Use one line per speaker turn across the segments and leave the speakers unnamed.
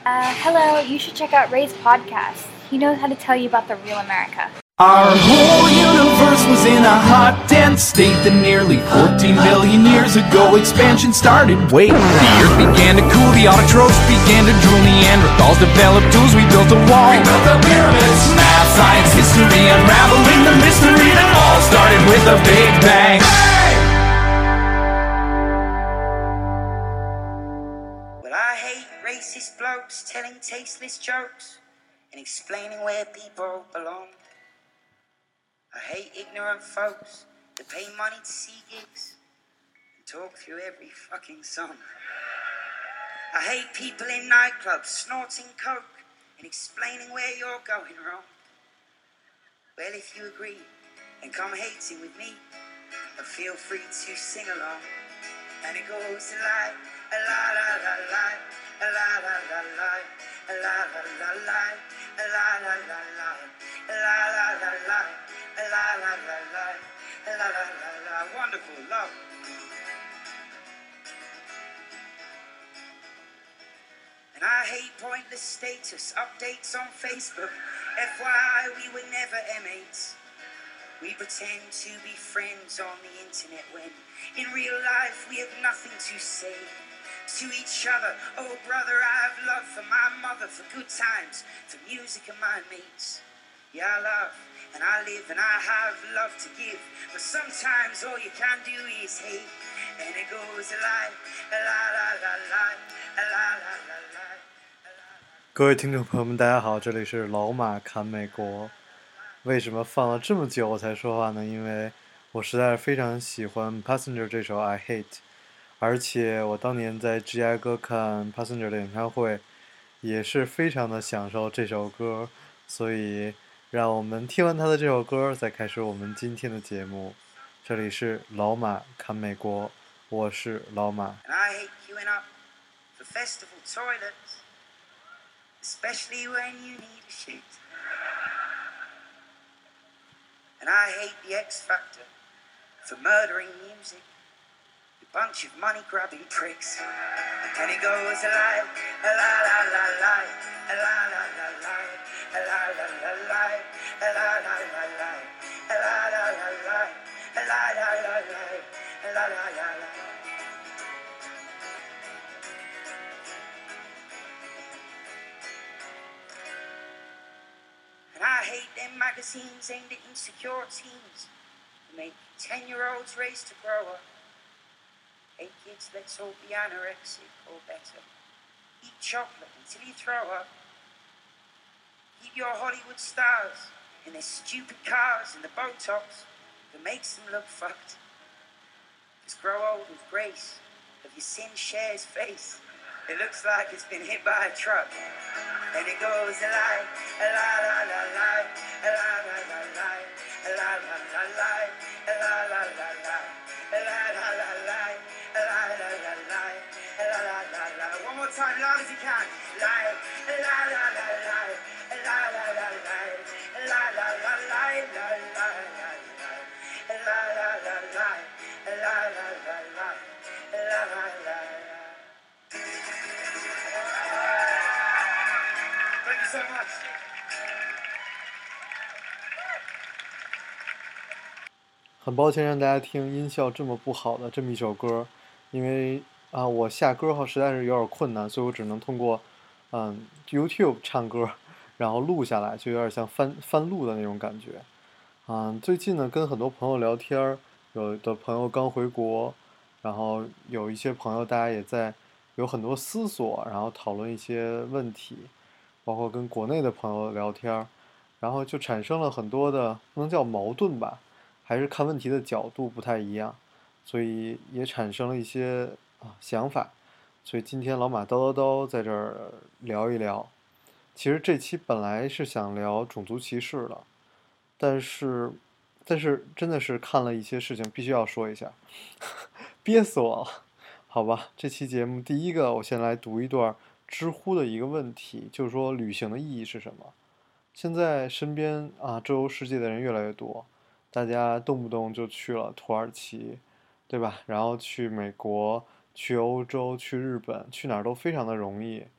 Hello, you should check out Ray's podcast. He knows how to tell you about the real America.
Our whole universe was in a hot, dense state that nearly 14 billion years ago expansion started. Wait, the earth began to cool, the autotrophs began to drool, Neanderthals developed tools, we built a wall. We built the pyramids. Math, science, history, unraveling the mystery that all started with a big bang. Hey!
Well, I hate racist blokes telling tasteless jokes and explaining where people belong. I hate ignorant folks that pay money to see gigs and talk through every fucking song. I hate people in nightclubs snorting coke and explaining where you're going wrong. Well, if you agree, then come hating with me, and feel free to sing along. And it goes like a la la la la, a la la la la, a la la la la, a la la la la, a la la la la, a la la la la, a la la la la. Wonderful love. And I hate pointless status updates on Facebook. FYI, we were never M8s. We pretend to be friends on the internet when in real life we have nothing to say to each other. Oh brother, I have love for my mother, for good times, for music and my mates. Yeah, I love and I live and I have love to give, but sometimes all you can do is hate. And it goes like la la la la, la la la la.
各位听众朋友们，大家好，这里是老马侃美国。为什么放了这么久我才说话呢？因为我实在是非常喜欢 Passenger 这首 I Hate， 而且我当年在芝加哥看 Passenger 的演唱会也是非常的享受这首歌，所以让我们听完他的这首歌再开始我们今天的节目。这里是老马侃美国，我是老马。
I hate queuing up for festival toilets, especially when you need a shit. And I hate the X Factor for murdering music, you bunch of money-grabbing pricks. And it goes like a la la la la, a la la la la, a la la la la, a la la la la, a la la la la, a la la la la, a la la la la. And I hate them magazines aimed at insecure teens who make 10-year-olds race to grow up. Hey kids, let's all be anorexic or better. Eat chocolate until you throw up. Keep your Hollywood stars in their stupid cars and the Botox that makes them look fucked. Just grow old with grace, of your sin shares face. It looks like it's been hit by a truck. And it goes like a la la la la, a la la la la, a la la la la, a la la la la, a la la la la, a la la la la, a la la la la. One more time, loud as you can. Like a la la la la, a la la la la, a la la la la, la la la la, a la la la la, a la la la la, a la la la la. Thank you so much.
很抱歉让大家听音效这么不好的这么一首歌，因为我下歌后实在是有点困难，所以我只能通过YouTube 唱歌，然后录下来，就有点像翻录的那种感觉。最近呢跟很多朋友聊天，有的朋友刚回国，然后有一些朋友大家也在有很多思索，然后讨论一些问题，包括跟国内的朋友聊天，然后就产生了很多的不能叫矛盾吧，还是看问题的角度不太一样，所以也产生了一些想法。所以今天老马叨叨叨在这儿聊一聊。其实这期本来是想聊种族歧视的，但是真的是看了一些事情，必须要说一下，憋死我了。好吧，这期节目第一个，我先来读一段知乎的一个问题，就是说旅行的意义是什么？现在身边周游世界的人越来越多，大家动不动就去了土耳其，对吧？然后去美国、去欧洲、去日本，去哪儿都非常的容易。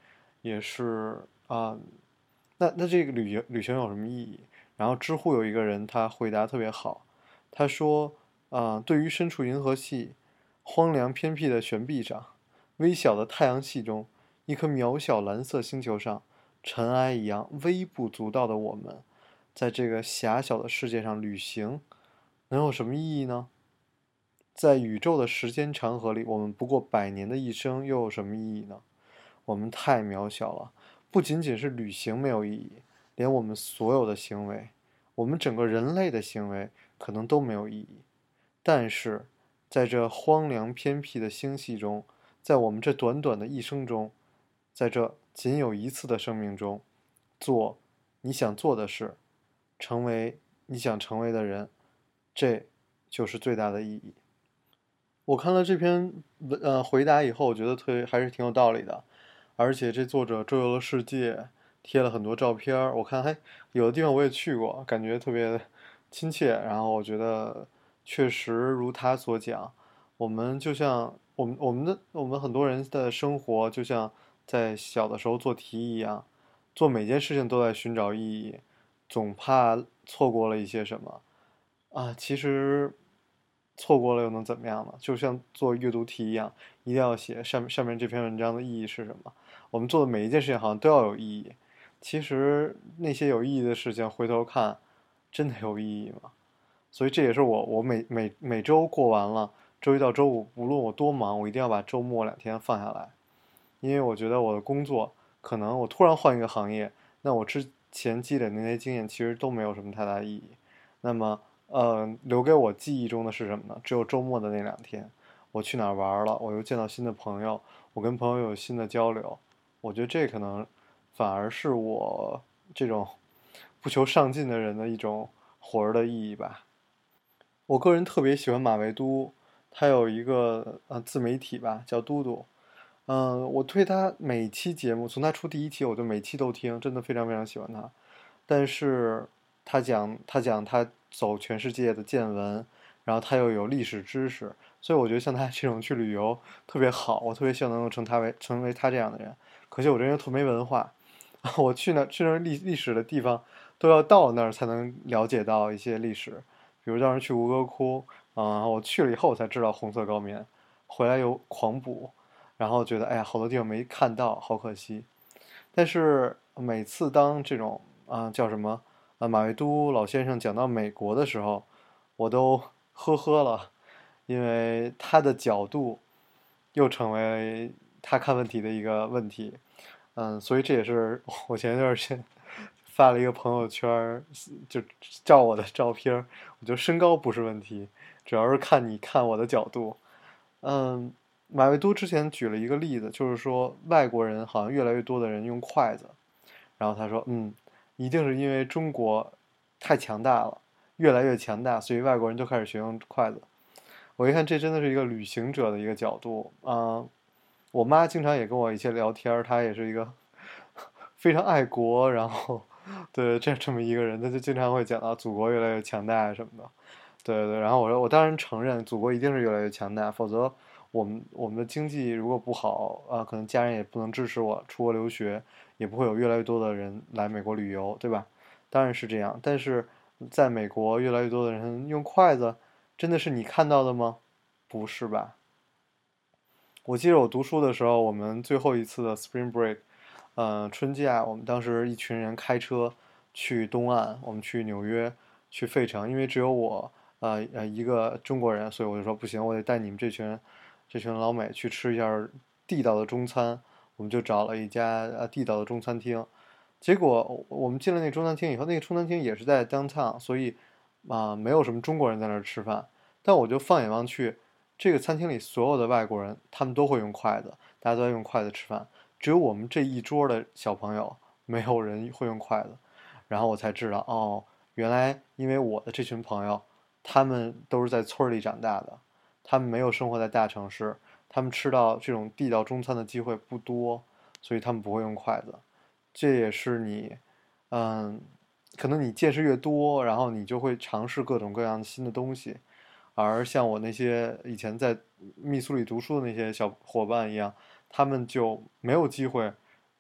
也是那这个旅行有什么意义？然后知乎有一个人他回答特别好，他说对于身处银河系荒凉偏僻的悬臂上，微小的太阳系中，一颗渺小蓝色星球上，尘埃一样微不足道的我们，在这个狭小的世界上旅行，能有什么意义呢？在宇宙的时间长河里，我们不过100年的一生，又有什么意义呢？我们太渺小了，不仅仅是旅行没有意义，连我们所有的行为，我们整个人类的行为，可能都没有意义。但是，在这荒凉偏僻的星系中，在我们这短短的一生中，在这仅有一次的生命中，做你想做的事，成为你想成为的人，这就是最大的意义。我看了这篇回答以后，我觉得还是挺有道理的，而且这作者周游了世界，贴了很多照片儿，我看有的地方我也去过，感觉特别亲切。然后我觉得确实如他所讲，我们就像我们很多人的生活就像在小的时候做题一样，做每件事情都在寻找意义，总怕错过了一些什么其实错过了又能怎么样呢？就像做阅读题一样，一定要写上面这篇文章的意义是什么。我们做的每一件事情好像都要有意义，其实那些有意义的事情回头看，真的有意义吗？所以这也是我每周过完了，周一到周五，无论我多忙，我一定要把周末2天放下来，因为我觉得我的工作可能我突然换一个行业，那我之前积累的那些经验其实都没有什么太大意义。那么留给我记忆中的是什么呢？只有周末的那2天，我去哪儿玩了，我又见到新的朋友，我跟朋友有新的交流，我觉得这可能反而是我这种不求上进的人的一种活儿的意义吧。我个人特别喜欢马未都，他有一个自媒体吧，叫嘟嘟。我对他每期节目，从他出第1期，我就每期都听，真的非常非常喜欢他。但是他讲他走全世界的见闻，然后他又有历史知识，所以我觉得像他这种去旅游特别好，我特别希望能够成为他这样的人。可惜我这人特没文化，我去那历史的地方都要到那儿才能了解到一些历史，比如当时去吴哥窟我去了以后我才知道红色高棉，回来又狂补，然后觉得哎呀好多地方没看到，好可惜。但是每次当这种叫什么马未都老先生讲到美国的时候，我都呵呵了，因为他的角度又成为他看问题的一个问题。所以这也是我前一段时间发了一个朋友圈，就照我的照片，我觉得身高不是问题，主要是看你看我的角度。马未都之前举了一个例子，就是说外国人好像越来越多的人用筷子，然后他说，一定是因为中国太强大了，越来越强大，所以外国人就开始学用筷子。我一看，这真的是一个旅行者的一个角度我妈经常也跟我一起聊天，她也是一个非常爱国，然后对这么一个人，她就经常会讲到祖国越来越强大什么的。对，然后我说我当然承认祖国一定是越来越强大，否则我们的经济如果不好可能家人也不能支持我出国留学，也不会有越来越多的人来美国旅游，对吧？当然是这样，但是在美国越来越多的人用筷子，真的是你看到的吗？不是吧？我记得我读书的时候，我们最后一次的 Spring Break，春假，我们当时一群人开车去东岸，我们去纽约，去费城，因为只有我一个中国人，所以我就说不行，我得带你们这群老美去吃一下地道的中餐。我们就找了一家地道的中餐厅，结果我们进了那中餐厅以后，那个中餐厅也是在 downtown，所以没有什么中国人在那儿吃饭。但我就放眼望去，这个餐厅里所有的外国人，他们都会用筷子，大家都在用筷子吃饭，只有我们这一桌的小朋友没有人会用筷子。然后我才知道，原来因为我的这群朋友，他们都是在村里长大的，他们没有生活在大城市，他们吃到这种地道中餐的机会不多，所以他们不会用筷子。这也是你，可能你见识越多，然后你就会尝试各种各样新的东西。而像我那些以前在密苏里读书的那些小伙伴一样，他们就没有机会，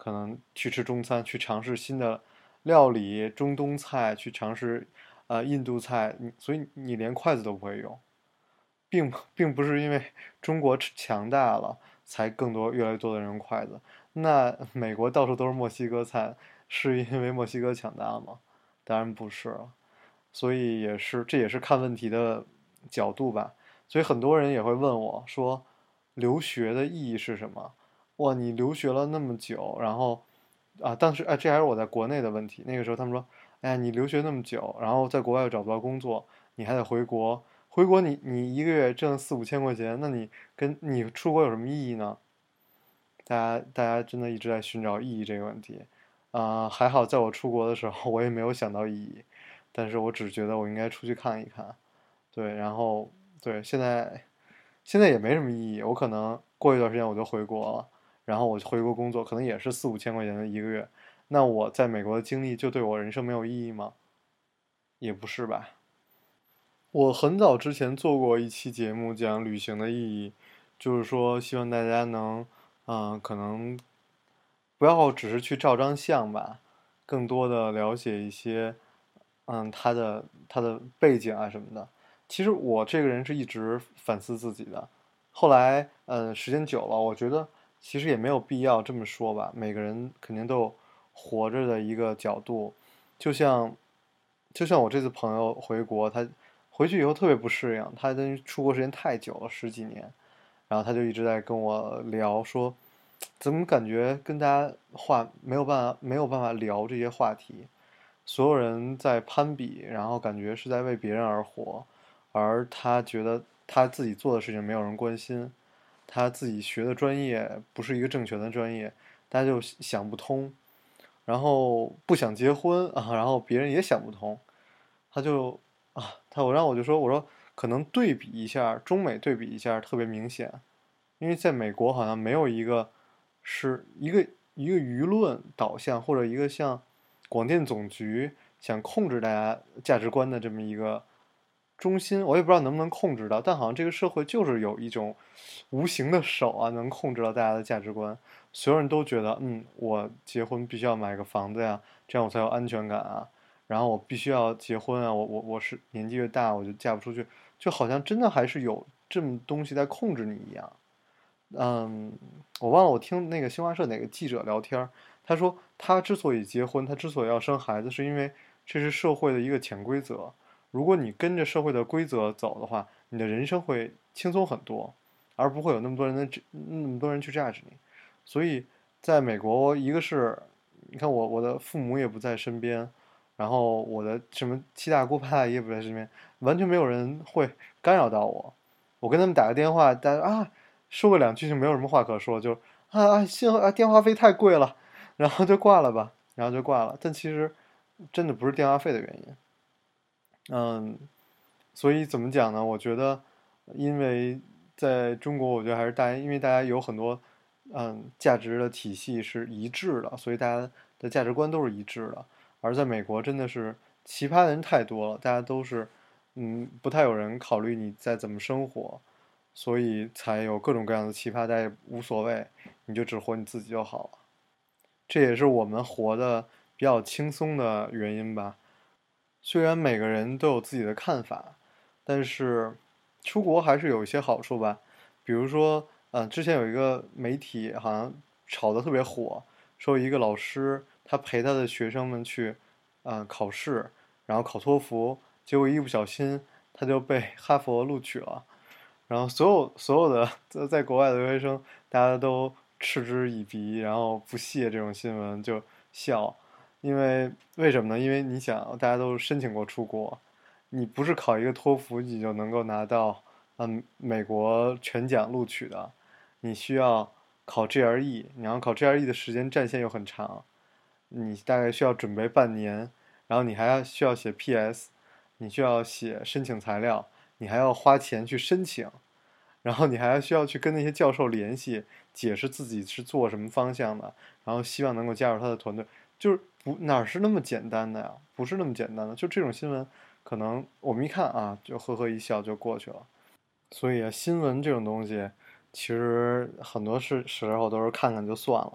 可能去吃中餐，去尝试新的料理，中东菜，去尝试印度菜，所以你连筷子都不会用，并不是因为中国强大了才越来越多的人用筷子。那美国到处都是墨西哥菜，是因为墨西哥强大吗？当然不是了。所以这也是看问题的角度吧。所以很多人也会问我说，留学的意义是什么？哇，你留学了那么久，然后当时这还是我在国内的问题。那个时候他们说，哎呀，你留学那么久，然后在国外又找不到工作，你还得回国。回国你一个月挣4、5千块钱，那你出国有什么意义呢？大家真的一直在寻找意义这个问题。还好在我出国的时候，我也没有想到意义，但是我只觉得我应该出去看一看。对，然后对，现在也没什么意义，我可能过一段时间我就回国了，然后我回国工作，可能也是4、5千块钱的一个月。那我在美国的经历就对我人生没有意义吗？也不是吧。我很早之前做过一期节目讲旅行的意义，就是说希望大家能，可能不要只是去照张相吧，更多的了解一些，他的背景啊什么的。其实我这个人是一直反思自己的，后来时间久了，我觉得其实也没有必要这么说吧。每个人肯定都有活着的一个角度，就像我这次朋友回国，他回去以后特别不适应，他等于出国时间太久了，十几年，然后他就一直在跟我聊说，怎么感觉跟大家没有办法聊这些话题，所有人在攀比，然后感觉是在为别人而活，而他觉得他自己做的事情没有人关心，他自己学的专业不是一个正确的专业，大家就想不通，然后不想结婚然后别人也想不通，他就我就说可能对比一下中美对比一下特别明显，因为在美国好像没有一个是一个舆论导向或者一个像广电总局想控制大家价值观的这么一个中心，我也不知道能不能控制到，但好像这个社会就是有一种无形的手能控制到大家的价值观。所有人都觉得，我结婚必须要买个房子呀，这样我才有安全感啊。然后我必须要结婚啊，我是年纪越大我就嫁不出去，就好像真的还是有这么东西在控制你一样。我忘了我听那个新华社哪个记者聊天，他说他之所以结婚，他之所以要生孩子，是因为这是社会的一个潜规则。如果你跟着社会的规则走的话，你的人生会轻松很多，而不会有那么多人去 judge 你。所以在美国，一个是你看我的父母也不在身边，然后我的什么七大姑八大姨也不在身边，完全没有人会干扰到我。我跟他们打个电话，大家说个2句就没有什么话可说，就电话费太贵了，然后就挂了吧，然后就挂了。但其实真的不是电话费的原因。所以怎么讲呢？我觉得，因为在中国，我觉得还是因为大家有很多价值的体系是一致的，所以大家的价值观都是一致的。而在美国，真的是奇葩的人太多了，大家都是不太有人考虑你在怎么生活，所以才有各种各样的奇葩，大家也无所谓，你就只活你自己就好了。这也是我们活的比较轻松的原因吧。虽然每个人都有自己的看法，但是出国还是有一些好处吧。比如说，之前有一个媒体好像炒得特别火，说一个老师他陪他的学生们去，考试，然后考托福，结果一不小心他就被哈佛录取了。然后所有的在国外的留学生，大家都嗤之以鼻，然后不屑这种新闻就笑。为什么呢？因为你想，大家都申请过出国，你不是考一个托福你就能够拿到美国全奖录取的，你需要考 GRE，你要考 GRE 的时间战线又很长，你大概需要准备半年，然后你还需要写 PS，你需要写申请材料，你还要花钱去申请，然后你还需要去跟那些教授联系，解释自己是做什么方向的，然后希望能够加入他的团队。就是哪是那么简单的呀？不是那么简单的。就这种新闻，可能我们一看就呵呵一笑就过去了。所以新闻这种东西，其实很多时候都是看看就算了。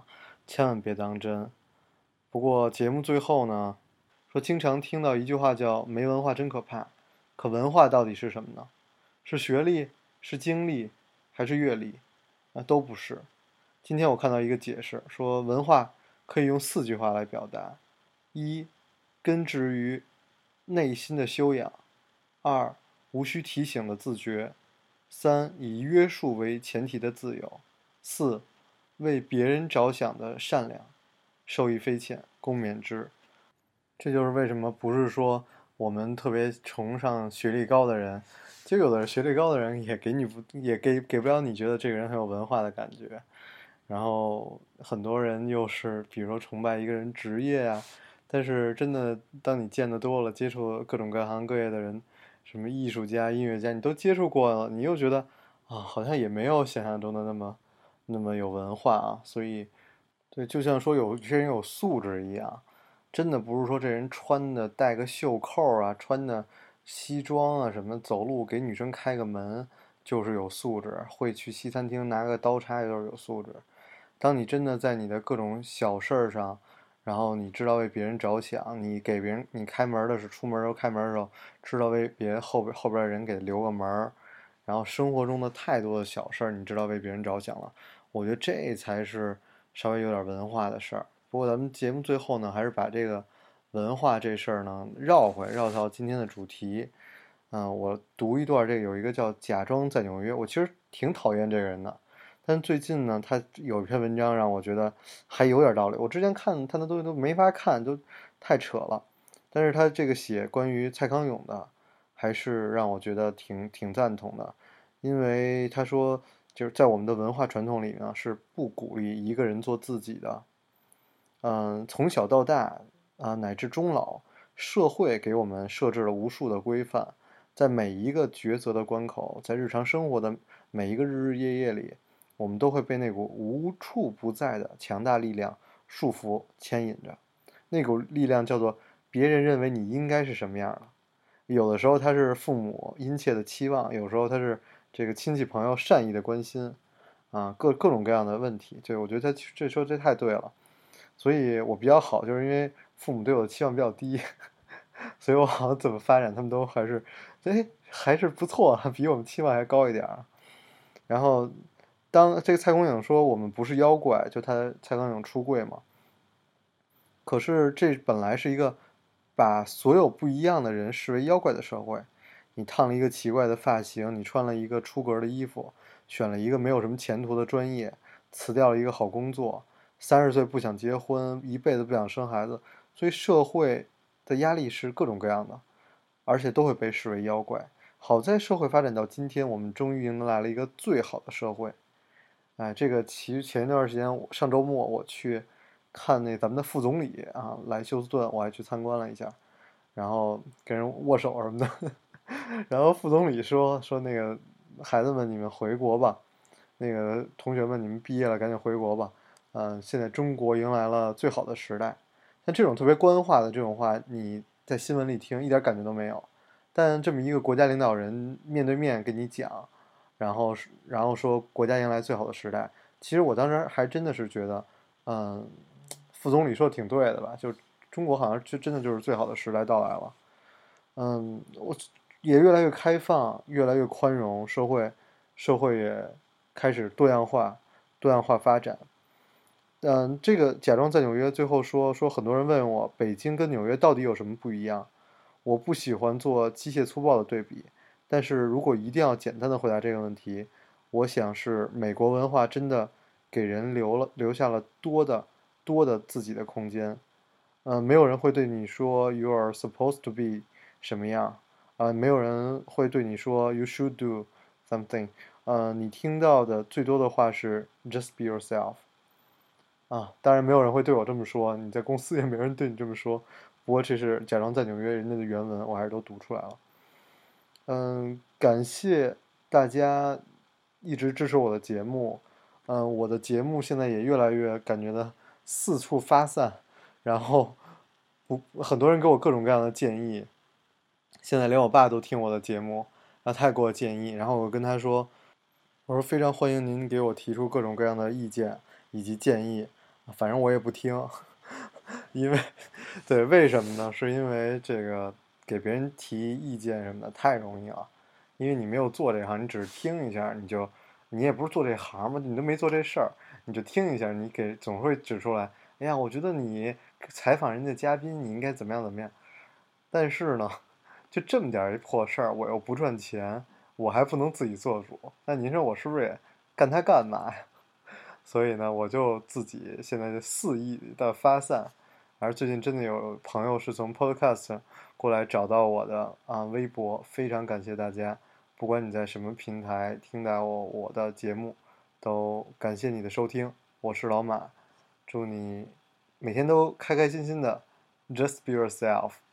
千万别当真。不过节目最后呢，说经常听到一句话叫没文化真可怕，可文化到底是什么呢？是学历，是经历，还是阅历？都不是。今天我看到一个解释，说文化可以用4句话来表达：一，根植于内心的修养；二，无需提醒的自觉；三，以约束为前提的自由；四，为别人着想的善良。受益匪浅，共勉之。这就是为什么不是说我们特别崇尚学历高的人，就有的学历高的人也给不了你觉得这个人很有文化的感觉。然后很多人又是比如说崇拜一个人职业啊，但是真的当你见得多了，接触各种各行各业的人，什么艺术家、音乐家，你都接触过了，你又觉得好像也没有想象中的那么有文化啊。所以对，就像说有些人有素质一样，真的不是说这人穿的带个袖扣啊，穿的西装啊什么，走路给女生开个门就是有素质，会去西餐厅拿个刀叉就是有素质。当你真的在你的各种小事儿上，然后你知道为别人着想，你给别人你开门的是出门时候开门的时候，知道为别人后边的人给留个门，然后生活中的太多的小事儿，你知道为别人着想了，我觉得这才是稍微有点文化的事儿。不过咱们节目最后呢，还是把这个文化这事儿呢绕到今天的主题。我读一段，这个有一个叫假装在纽约，我其实挺讨厌这个人的。但最近呢，他有一篇文章让我觉得还有点道理。我之前看他的东西都没法看，都太扯了。但是他这个写关于蔡康永的，还是让我觉得挺赞同的。因为他说，就是在我们的文化传统里呢，是不鼓励一个人做自己的。从小到大乃至终老，社会给我们设置了无数的规范，在每一个抉择的关口，在日常生活的每一个日日夜夜里，我们都会被那股无处不在的强大力量束缚牵引着。那股力量叫做别人认为你应该是什么样的。有的时候他是父母殷切的期望，有时候他是这个亲戚朋友善意的关心，各种各样的问题。对，我觉得他这说这太对了。所以我比较好，就是因为父母对我的期望比较低，所以我好像怎么发展，他们都还是不错，比我们期望还高一点。然后，当这个蔡康永说我们不是妖怪，就蔡康永出柜嘛。可是这本来是一个把所有不一样的人视为妖怪的社会。你烫了一个奇怪的发型，你穿了一个出格的衣服，选了一个没有什么前途的专业，辞掉了一个好工作，30岁不想结婚，一辈子不想生孩子，所以社会的压力是各种各样的，而且都会被视为妖怪。好在社会发展到今天，我们终于迎来了一个最好的社会。这个其实前一段时间，上周末我去看那咱们的副总理来休斯顿，我还去参观了一下，然后跟人握手什么的。然后副总理说那个孩子们，你们回国吧，那个同学们，你们毕业了赶紧回国吧。现在中国迎来了最好的时代。像这种特别官话的这种话，你在新闻里听一点感觉都没有，但这么一个国家领导人面对面跟你讲，然后说国家迎来最好的时代，其实我当时还真的是觉得，副总理说的挺对的吧，就中国好像真的就是最好的时代到来了。我也越来越开放，越来越宽容，社会也开始多样化发展。这个假装在纽约最后说很多人问我北京跟纽约到底有什么不一样，我不喜欢做机械粗暴的对比，但是如果一定要简单的回答这个问题，我想是美国文化真的给人留下了多的自己的空间。没有人会对你说 you are supposed to be 什么样，没有人会对你说 you should do something。你听到的最多的话是 just be yourself。当然没有人会对我这么说，你在公司也没人对你这么说。不过这是假装在纽约人家的原文，我还是都读出来了。感谢大家一直支持我的节目。我的节目现在也越来越感觉到四处发散，然后很多人给我各种各样的建议。现在连我爸都听我的节目，然后他也给我建议，然后我跟他说，我说非常欢迎您给我提出各种各样的意见以及建议。 反正我也不听，因为对，为什么呢？是因为这个给别人提意见什么的太容易了，因为你没有做这行，你只是听一下，你也不是做这行嘛，你都没做这事儿，你就听一下，你总会指出来，哎呀，我觉得你采访人家嘉宾，你应该怎么样怎么样。但是呢，就这么点儿一破事儿，我又不赚钱，我还不能自己做主，那您说我是不是也干它干嘛呀？所以呢，我就自己现在就肆意的发散，而最近真的有朋友是从 Podcast 过来找到我的微博，非常感谢大家，不管你在什么平台听到我的节目，都感谢你的收听，我是老马，祝你每天都开开心心的，Just be yourself。